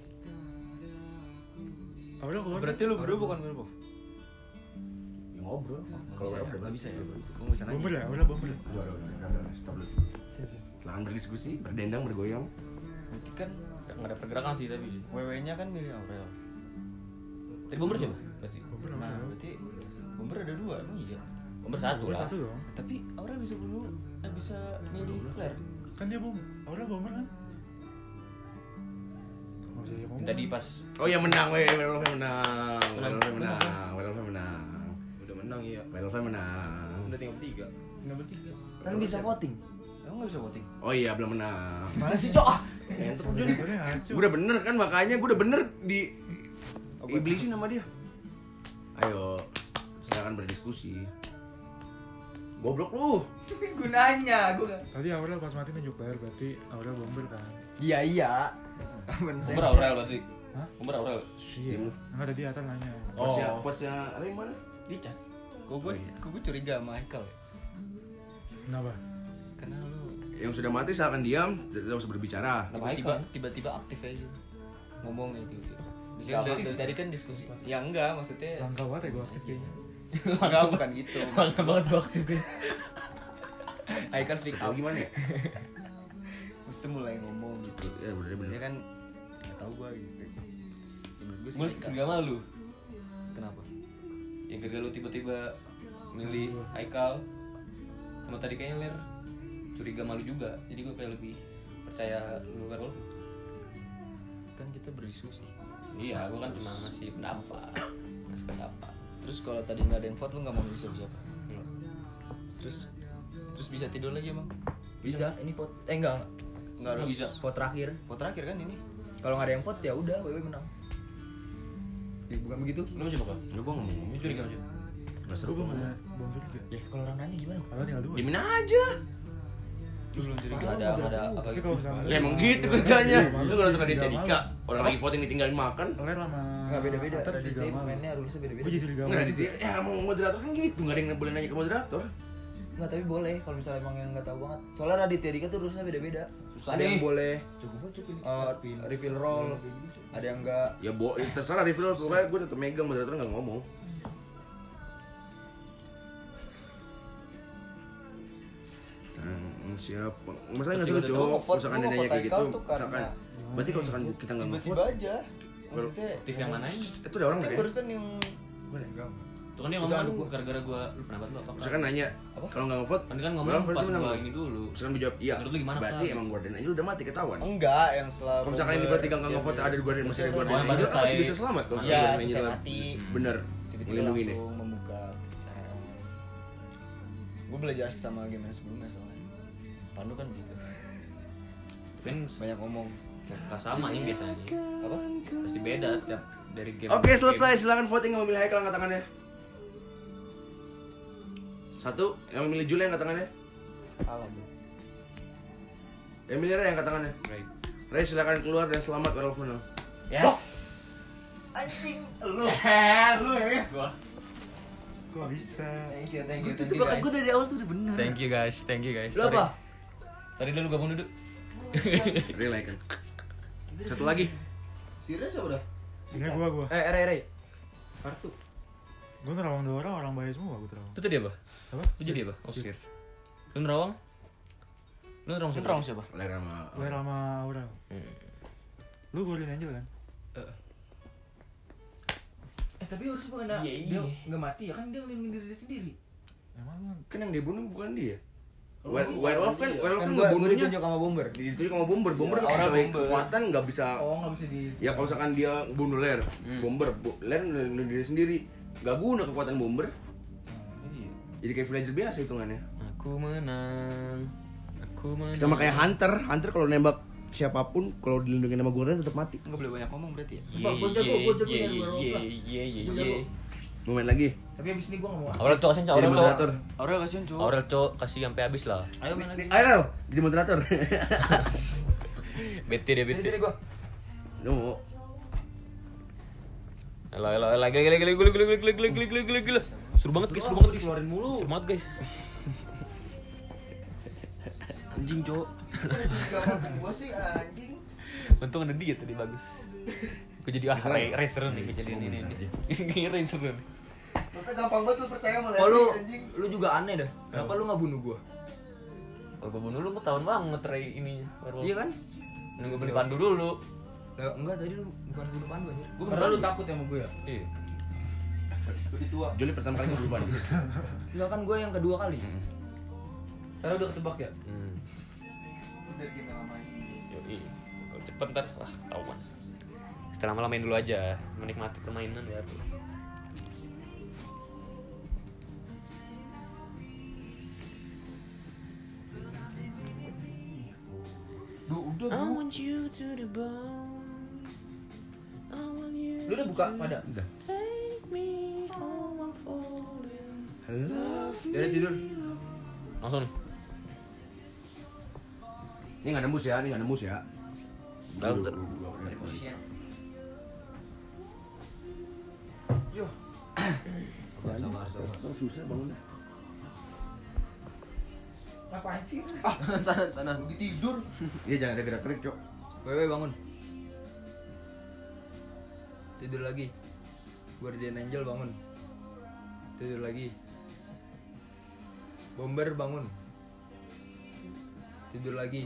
Aurel keluar. Berarti lu berdua bukan werewolf. Ya, ngobrol. Kalau werewolf Enggak bisa ya. Gua bisa nanya. Bomber ya, Aurel bomber. Udah, stop dulu. Silakan berdiskusi, berdendang, bergoyang. Berarti kan Nggak ada pergerakan sih tapi. WW-nya kan milih Aurel. Tadi bomber siapa? Berarti. Bomber Nah, Aurel. berarti Bomber ada dua emang iya. Bomber satu Bomber lah. satu dong. Tapi Aurel bisa bunuh, bisa milih Claire. Kan dia bomber. Aurel bomber kan? Nggak usah dia ngomong. Tadi pas Oh ya menang, werewolf menang. Werewolf menang. Werewolf menang. Udah menang iya. Werewolf menang. Udah tinggal bertiga. Kan bisa voting. Emang nggak bisa voting? Oh iya, belum menang. Mana sih, Cok? Ngentot Jun. Udah ngaco. Gue udah bener kan, makanya gue udah bener di iblisin sama dia. Ayo, silakan berdiskusi. Goblok lu. Gunanya gua. Tadi Aurel pas mati nunjuk Claire, berarti Aurel bomber kan? Iya. Common sense. bomber Aurel berarti. Hah? Bomber Aurel. Iya. Enggak, tadi Atal nanya. Potsnya Ray mana? Dicas. Kok gue curiga sama Michael ya? Kenapa? Karena lu Yang sudah mati silakan diam, tidak usah berbicara. tiba-tiba aktif aja ngomong itu. Biasanya dari tadi kan diskusi. Ya enggak, maksudnya Langka banget ya gue aktif kayaknya. enggak bukan gitu. Bangga banget gua aktif. Michael speak Tahu up. gimana ya? Mesti mulai ngomong gitu. Ya bener. Dia kan enggak tahu gua gitu. Menurut gua sih Gue Michael. curiga sama lu. Kenapa? Yang ketika lu tiba-tiba milih Haikal sama tadi kayaknya Ler curiga malu juga. Jadi gue kayak lebih percaya lu werewolf. Kan kita berdiskusi. Iya, gue kan cuma ngasih pendapat. Ngasih pendapat. Terus kalau tadi nggak ada yang vote lu nggak mau milih siapa? Terus bisa tidur lagi emang? Bisa, ini vote. Enggak. Nggak harus bisa. Vote terakhir. Vote terakhir kan ini? Kalau nggak ada yang vote ya udah, WW menang. Ya, bukan begitu? Lu mau siapa? Lu gua ngomong. Lu curiga sama siapa? Enggak seru. Gue belum ada bomber juga. Ya kalau orang nanya gimana? Aurel tinggal 2. Dimin aja. Lu belum curiga. Ada apa Tapi gitu? kalau misalnya Ya emang gitu kerjanya. Iya, Lu kalau nonton Raditya malu. Dika, orang lagi voting ditinggalin makan. Claire sama Enggak beda-beda. Atal Tadi juga malu. mainnya rulesnya beda-beda. Gue jadi curiga Enggak Raditya. Ya mau moderator kan gitu, enggak ada yang boleh nanya ke moderator. Enggak, tapi boleh kalau misalnya emang yang enggak tahu banget. Soalnya Raditya Dika tuh rulesnya beda-beda. Susah Ada yang nih. boleh refill roll, ada yang enggak. Ya terserah review, pokoknya gue tetep megang, moderator nggak ngomong. Siapa? Masalahnya nggak Tiba-tiba suka cowok. nge-vote, Misalkan lu dia nanya nge-vote kayak gitu, Haikal tuh karena- misalkan berarti kalau misalkan kita nggak Tiba-tiba nge-vote, aja. Maksudnya Aktif yang mana ini? itu ada orang kan nggak ya? barusan yang Tuh kan dia ngomong kan gara-gara gua lu pernah banget apa? Misalkan nanya, kalau nggak nge-vote, Kan kan ngomong berapa pas berarti gua menang? ini dulu. Misalkan dia jawab iya, Menurut lu gimana, berarti Pak? emang Guardian Angel udah mati ketahuan. enggak yang setelah Kalau misalkan ini berarti nggak nge-vote ada di Guardian masih ada Guardian Oh, Angel, kan masih selesai. bisa selamat kalau Iya, Guardian selesai Angel mati. bener tiba-tiba melindungi nih. langsung membuka cara. Gue belajar sama game yang sebelumnya soalnya. Pandu kan gitu. Kan Banyak ngomong. nggak sama nih biasanya. Apa? Pasti beda tiap dari game. Oke, selesai. Silakan voting yang memilih Haikal angkat tangannya. 1, yang memilih Jule angkat tangannya. Kalah gue. Yang memilih Ray angkat tangannya. Right. Ray silakan keluar dan selamat Werewolf menang. Yes. Anjing, lu. Yes. Gua. Kok bisa? Thank you, thank you, Itu thank you bakal guys. gue dari awal tuh udah bener. Thank you guys, thank you guys. Lu apa? Sorry dulu gabung dulu. Relay kan. Satu lagi. Serius apa dah? Ini gua. Ray. Kartu. Gua nerawang 2 orang baik semua gua terawang. Itu tadi apa? Apa? Itu jadi apa? Oh, sir. Lu nerawang? Lu nerawang siapa? Nerawang siapa? Ler sama Gue sama Aurel. Lu Guardian Angel kan? Tapi harus bukan dia nggak mati ya kan dia ngelindungin diri dia sendiri. Emang kan yang dibunuh bukan dia. Werewolf kan Kan ngebunuhnya ditunjuk sama Bomber. ditunjuk sama Bomber. Bomber Orang sesuai Bomber. kekuatan nggak bisa. Oh nggak bisa di. Ya kalau misalkan dia bunuh Ler, Ler ngelindungin diri sendiri. Gak guna kekuatan Bomber. Jadi kayak villager biasa hitungannya. Aku menang. Aku menang. Sama kayak Hunter. Hunter kalau nembak siapapun kalau dilindungi sama Guardian tetap mati. Enggak boleh banyak ngomong berarti ya? Gua jago dari werewolf lah. Gua jago. Mau main lagi. Tapi abis ini gua nggak mau. Aurel cok, Jadi Aurel cok. moderator. Aurel kasihan cowok. Aurel cok, kasih sampai habis lah. Ayo main lagi. Ayo, jadi moderator. Bete dia bete. Sini gua. No. Lagi. Seru banget guys, seru banget guys. Keluarin mulu. Seru banget guys. Anjing, Cok. Gua sih anjing. Untung ada dia tadi bagus. Gue jadi racer nih, gue jadi ini racer nih. Masa gampang banget lu percaya sama Oh lu, Larry anjing. lu juga aneh dah. Kenapa lu nggak bunuh gua? Kalau gue bunuh lu ketahuan banget Ray ininya. Iya kan? Nunggu beli pandu dulu. Lah, enggak tadi lu bukan bunuh Pandu anjir. Gua Karena bunuh lu takut sama gue ya. Iya. Lebih tua. Juli pertama kali berubah. Enggak kan gue yang kedua kali. Karena udah ketebak ya. Udah game yang lama ini. Yoi. Kalau cepet ntar wah ketahuan. Setelah malam main dulu aja, menikmati permainan ya. Udah. I want you to the bone. I want you. Lu udah buka pada? Udah. Take me home, I'm falling. Udah tidur. Langsung nih. Ini nggak nembus ya, Udah, udah. Posisinya. Susah bangun. Ngapain sih? Sana. Lagi tidur. Iya jangan ada gerak-gerik, Cok. Wewe bangun. Tidur lagi. Guardian Angel bangun. Tidur lagi. Bomber bangun. Tidur lagi.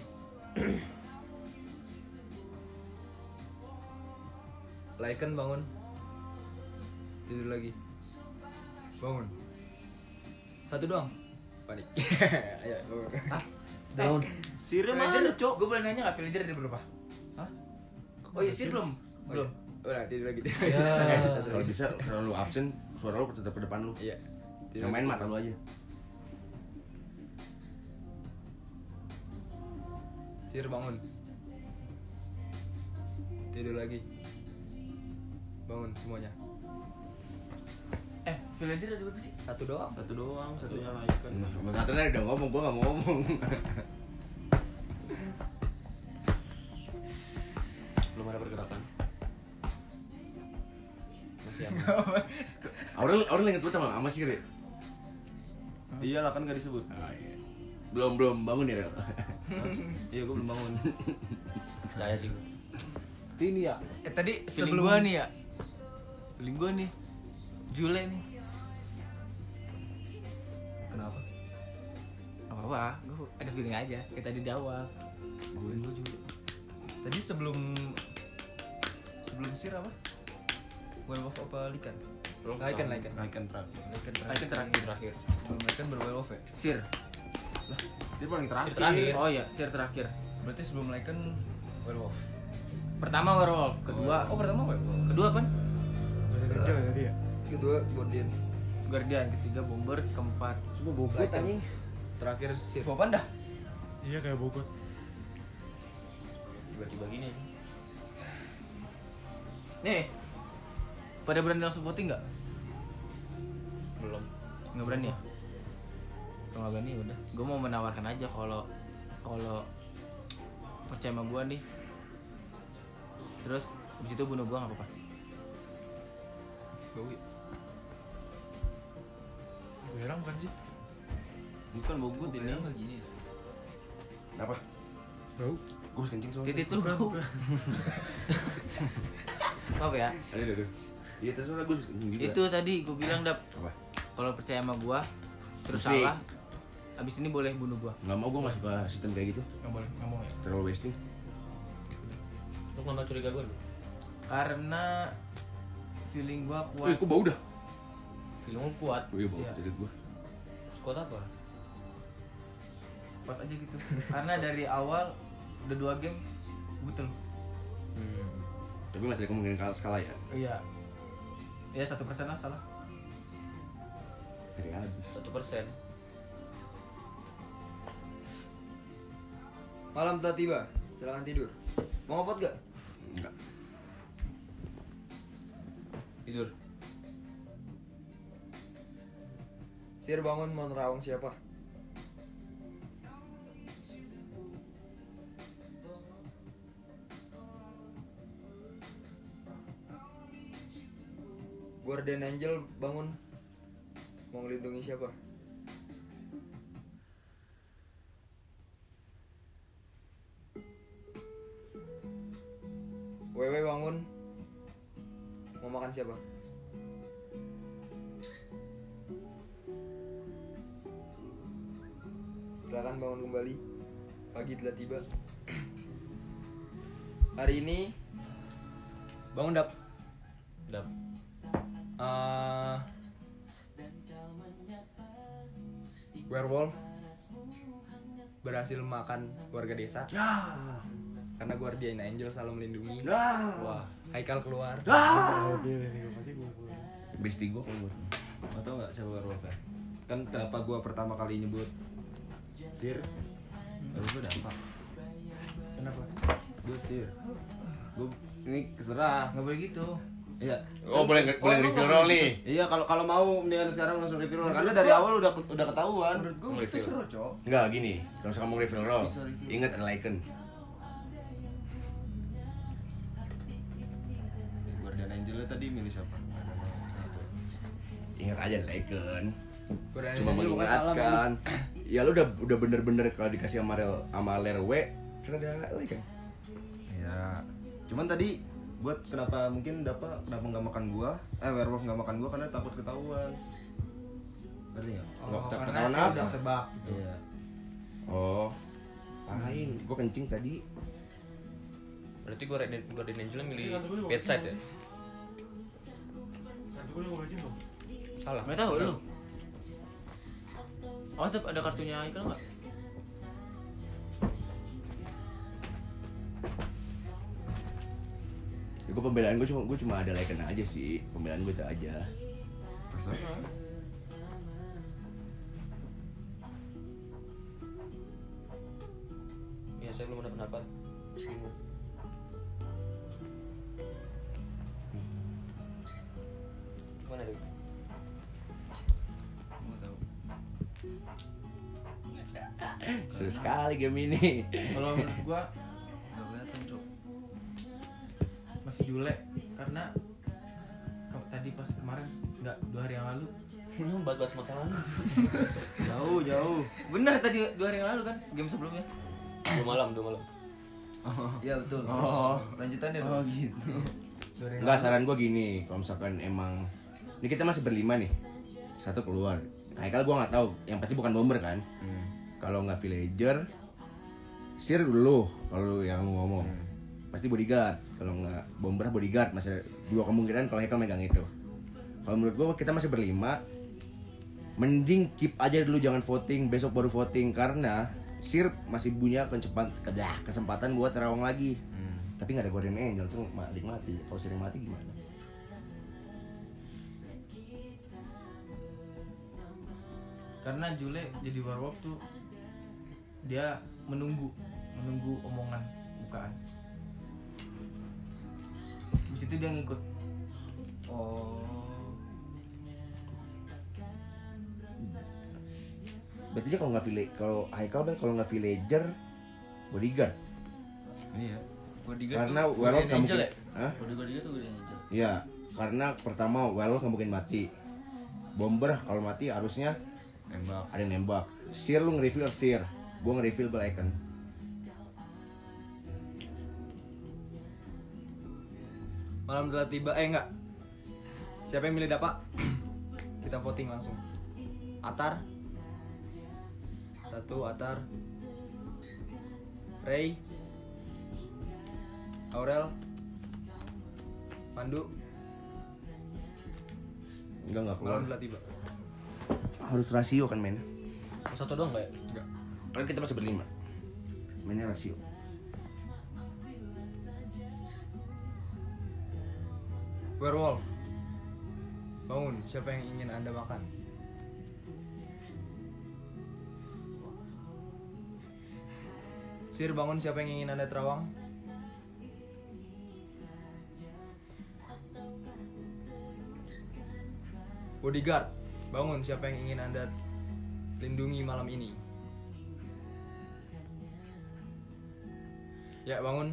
Lycan bangun. Tidur lagi. Bangun. Satu doang. Panik. Ayo, bangun. Sirnya mana, Cok? Gue boleh nanya enggak villager ada berapa? Hah? Oh iya, Sir belum. Belum. Udah tidur lagi deh. Kalau bisa kalau lu absen, suara lu tetap ke depan lu. Iya. Yang main mata lu aja. Sir bangun. Tidur lagi. Bangun semuanya. Villager ada berapa sih? Satu doang. Satu doang, satunya Lycan. Moderatornya udah ngomong, gua nggak mau ngomong. Belum ada pergerakan. Masih aman. Aurel inget betul sama Siri. Iya lah kan nggak disebut. Belum bangun ya, Rel. Iya gue belum bangun. Percaya sih gue. Ini ya. Tadi Feeling sebelum gua nih ya. Feeling gua nih. Jule nih. Kenapa? apa-apa, gue ada feeling aja kayak tadi di awal. Gue juga. Tadi sebelum sir apa? Werewolf apa Lycan? Lycan. Lycan terakhir. Lycan terakhir. Sebelum Lycan berwerewolf ya? Sir. Sir paling terakhir. Sir terakhir. Oh iya, Sir terakhir. Berarti sebelum Lycan werewolf. Pertama werewolf, kedua Pertama werewolf. kedua kan Dari kecil tadi ya. Kedua Guardian. Guardian, ketiga Bomber, keempat Semua bobot Lycan. anjing. Terakhir Sir. Bawa panda. Iya kayak Bogor. Tiba-tiba gini. nih. Pada berani langsung voting nggak? Belum. Nggak berani ya? Kalau nggak berani ya udah. Gue mau menawarkan aja kalau percaya sama gue nih. Terus di situ bunuh gue nggak apa-apa. Bawi. Belerang bukan sih? Bukan bobot ini. Belerang lagi gini. Apa? Bau. Gue harus kencing soalnya. Titit tuh bau. Apa ya? Aduh. Iya terserah gue harus kencing juga. Itu tadi gue bilang Dap. Apa? Kalau percaya sama gue terus Musik. salah, abis ini boleh bunuh gue. Nggak mau, gue nggak suka sistem kayak gitu. Nggak boleh, nggak mau ya. Terlalu wasting. Lu kenapa curiga gue lu? Karena feeling gue kuat. Wih, kok bau dah? Film lu kuat. Wih, bau Iya. titit gue. Kuat apa? Kuat aja gitu. Karena dari awal udah 2 game betul. Tapi masih ada kemungkinan kalah skala ya. Iya. Ya 1% lah salah. Dari habis. 1%. Malam telah tiba. Silakan tidur. Mau ngevote gak? Enggak. Tidur. Sir bangun mau nerawang siapa? Guardian Angel bangun mau ngelindungi siapa? Wewe bangun mau makan siapa? Silakan bangun kembali. Pagi telah tiba. Hari ini bangun Dap. Dap. Werewolf berhasil makan warga desa. Karena Guardian Angel selalu melindungi. Wah. Haikal keluar. Oh, pilih nih pasti gue. Bestie gue kalau gue. Mau tau nggak siapa werewolfnya? Kan kenapa gue pertama kali nyebut Sir? Werewolf udah apa? Kenapa? Gue Sir. Gue ini keserah. Nggak boleh gitu. Iya. Oh, boleh reveal role nih. Iya, kalau mau mendingan sekarang langsung reveal role. Karena dari awal udah ketahuan. Menurut gue itu seru, Cok. Enggak gini, kalau misalkan mau reveal role, Bisa reveal. ingat ada Lycan. Guardian Angel tadi milih siapa? Ingat aja ada Lycan. Guardian Cuma Angel bukan salah, mengingatkan. Ya lu udah bener-bener kalau dikasih sama Ler W, karena ada Lycan. Ya. Cuman tadi buat kenapa nggak makan gua? Werewolf nggak makan gua karena takut ketahuan. Ngerti nggak? Nggak karena ketahuan saya apa? udah tebak. Iya. Oh, lain. Gue kencing tadi. Berarti Guardian Angel milih bedside ya? Nanti gue mau ngajin dong. Salah. Nggak tahu lu. Oh, Dap, ada kartunya Haikal nggak? Ya, gue pembelaan gue cuma ada Lycan aja sih. Pembelaan gue itu aja. Iya, saya belum ada pendapat. Bingung. Mana deh? Mau tahu. Seru sekali game ini. Kalau menurut gua Nggak kelihatan, Cok. masih Jule karena tadi pas kemarin nggak 2 hari yang lalu. Bahas-bahas masalah. Jauh. Bener tadi 2 hari yang lalu kan game sebelumnya. 2 malam. Iya betul. Oh. Lanjutannya dong. Gitu. 2 hari yang Enggak, lalu. saran gue gini, kalau misalkan emang ini kita masih berlima nih, satu keluar. Haikal gue nggak tahu, yang pasti bukan bomber kan? Kalau nggak villager, Sir dulu kalau yang ngomong. Pasti bodyguard. Kalau nggak bomber bodyguard, masih ada 2 kemungkinan kalau Haikal megang itu. Kalau menurut gue kita masih berlima, mending keep aja dulu, jangan voting, besok baru voting karena Sir masih punya kesempatan buat terawang lagi. Tapi nggak ada Guardian Angel tuh mati. Kalau Sir mati gimana? Karena Jule jadi werewolf tuh dia menunggu omongan bukaan. Di situ dia ngikut. Oh. Berarti dia kalau Haikal kalau nggak villager bodyguard. Iya. Bodyguard Karena tuh werewolf nggak Angel mungkin. ya? Hah? Bodyguard tuh Guardian Angel. Iya, karena pertama werewolf nggak mungkin mati. Bomber kalau mati harusnya ada yang nembak. Sir lu nge-reveal Sir, gua nge-reveal Blacken. Malam telah tiba, enggak. Siapa yang milih Dapa? Kita voting langsung. Atar. 1 Atar. Ray. Aurel. Pandu. Enggak keluar. Malam telah tiba. Harus rasio kan men. Satu doang nggak ya? Enggak. Kan kita masih berlima. Mainnya rasio. Werewolf. Bangun, siapa yang ingin Anda makan? Sir, bangun, siapa yang ingin Anda terawang? Bodyguard, bangun, siapa yang ingin Anda lindungi malam ini? Ya, bangun.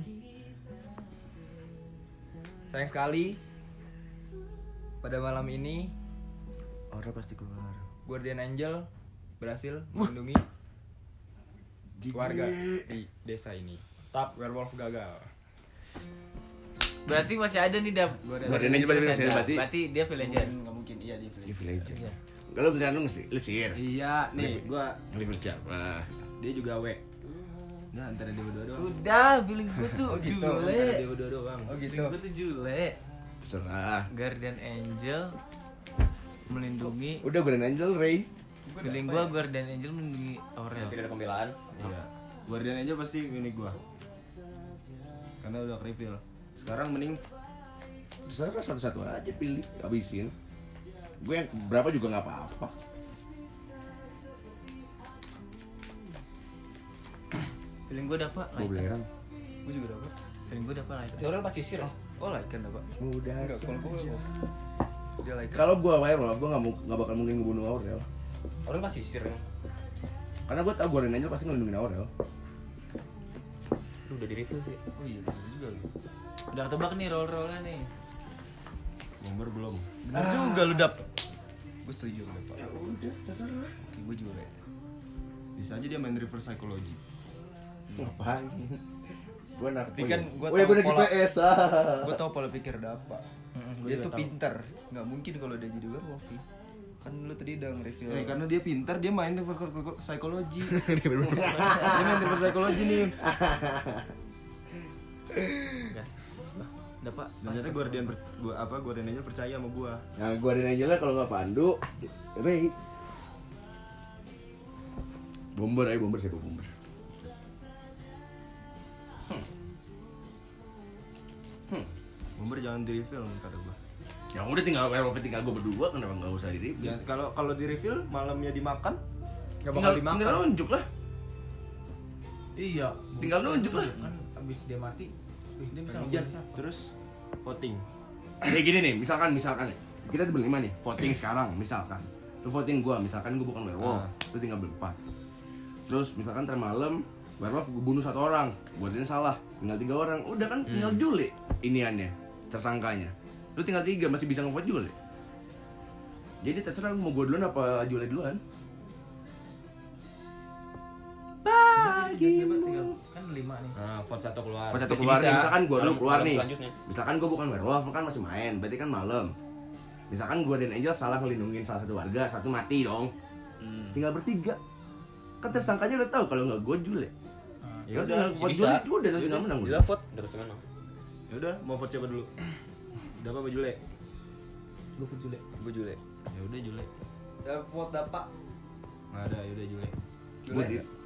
Sayang sekali, pada malam ini Aura pasti keluar. Guardian Angel berhasil melindungi warga di desa ini. Tap werewolf gagal. Berarti masih ada nih Dap. Guardian Angel berarti dia villager. Enggak mungkin iya dia di villager. villager. Kalau beneran lu Sir. Iya, nih gua Nge-reveal siapa? dia juga W. Nah, antara dia berdua doang. Udah, feeling gue tuh Oh, gitu. Antara Jule. dia berdua doang. Oh gitu. Feeling gue tuh Jule. Terserah. Guardian Angel melindungi. Udah Guardian Angel Ray. Feeling gue Guardian Angel melindungi Aurel. Tidak ada pembelaan. Iya. Guardian Angel pasti ini gua. Karena udah reveal. Sekarang mending Terserah satu-satu aja pilih, habisin. Gue yang berapa juga nggak apa-apa. Feeling gue dapat Gue belerang. Gue juga dapat. Feeling gue dapat like. Aurel pasti sir. Oh, like kan dapat. Mudah. Enggak, kalau gue dia like. Kalau gue werewolf, gue nggak bakal mungkin ngebunuh Aurel. Aurel pasti sir. Karena gue tau Guardian Angel pasti ngelindungin Aurel. Udah di review sih. Oh iya, bener juga lu. Udah ketebak nih roll-rollnya nih. bomber belum. Bener juga lu dap. Gue setuju lu Pak. Ya udah, terserah. Oke, gue juga like. Bisa aja dia main reverse psychology. Ngapain? Gue nak. Tapi kan gua oh ya tahu gue udah pola- GPS. Gue tau pola pikir Dapa. Gua Dia juga tuh tahu. pintar. Nggak mungkin kalau dia jadi werewolf nih. Kan lu tadi udah nge-reveal. Karena dia pintar, dia main reverse psychology. Dia main reverse psychology nih. Gas. Dapat. Dan ternyata Guardian Angel percaya sama gua. Nah, Guardian Angel lah kalau nggak Pandu, Ray. Bomber aja, bomber siapa bomber? Bomber jangan di reveal kata gua. Ya udah tinggal werewolf tinggal gue berdua, kenapa nggak usah di Ya, kalau di reveal malamnya dimakan, Gak bakal tinggal dimakan. nunjuk lah. Iya. Tinggal nunjuk lah. Kan abis dia mati, dia bisa hujan, ngebunuh siapa? terus voting. Kayak gini nih, misalkan nih, kita tuh berlima nih, voting sekarang, misalkan. Lu voting gua, misalkan gua bukan werewolf, lu tinggal berempat. Terus misalkan ntar malam, werewolf gua bunuh 1 orang, Guardian salah, tinggal 3 orang, udah kan tinggal Jule iniannya, tersangkanya. Lu tinggal 3, masih bisa ngevote Jule. Jadi terserah lu mau gua duluan apa Jule duluan. Tinggal kan 5 nih. Nah, vote 1 keluar. Pas satu Masih keluar bisa. nih, misalkan gua dulu Malam- keluar malam nih. selanjutnya. Misalkan gua bukan werewolf kan masih main, berarti kan malam. Misalkan Guardian Angel salah ngelindungin salah satu warga, satu mati dong. Tinggal bertiga. Kan tersangkanya udah tahu kalau nggak gue Jule. Ya udah, vote Jule, gue udah nggak menang. Gila vote. Udah pasti menang. Ya udah, mau vote siapa dulu? Dapa apa Jule? Gue pun Jule. Gue Jule. Ya udah Jule. Vote Dapak. Nggak ada, ya udah Jule. Jule.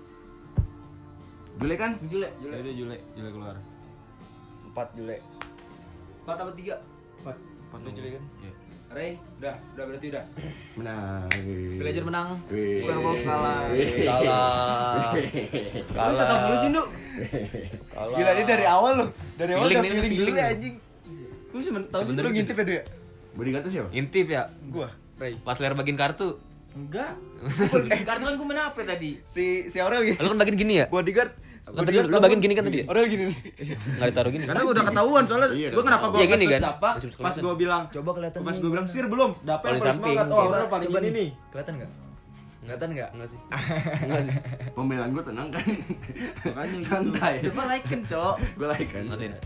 Jule kan? Jule. Ya udah Jule keluar. 4 Jule. 4 apa 3? 4 Lu Jule kan? Iya. Ray, udah berarti udah. Menang. Villager menang. Wih. Werewolf kalah. Kalah. Lu setak mulu sih, Nduk. Kalah. Gila dia dari awal loh. Dari awal Feeling udah nih, feeling feeling. dulu ya anjing. Lu sih tahu sih. Lu ngintip ya dia? Bodyguard tuh siapa? Intip ya. Gua. Ray. Pas ler bagiin kartu. Enggak. Kartu kan gue main apa tadi? Si Aurel gitu. Lu kan bagiin gini ya? Bodyguard. Kan tadi lu bagiin gini kan tadi ya? Aurel gini nih. Enggak ditaruh gini. Karena udah ketahuan soalnya Iya, gue kenapa gue Iya, gini kasus kan? Dapa Masih pas kelihatan. gue bilang Coba kelihatan pas nih, gue bilang gimana? sir belum Dapa Kalau yang di paling samping. semangat, oh Aurel paling coba ini nih. Kelihatan enggak? Kelihatan enggak? Enggak sih. Enggak sih. Pembelaan gue tenang kan. Makanya gitu. Santai. Coba like-in, Cok. Gue like kan. Matiin.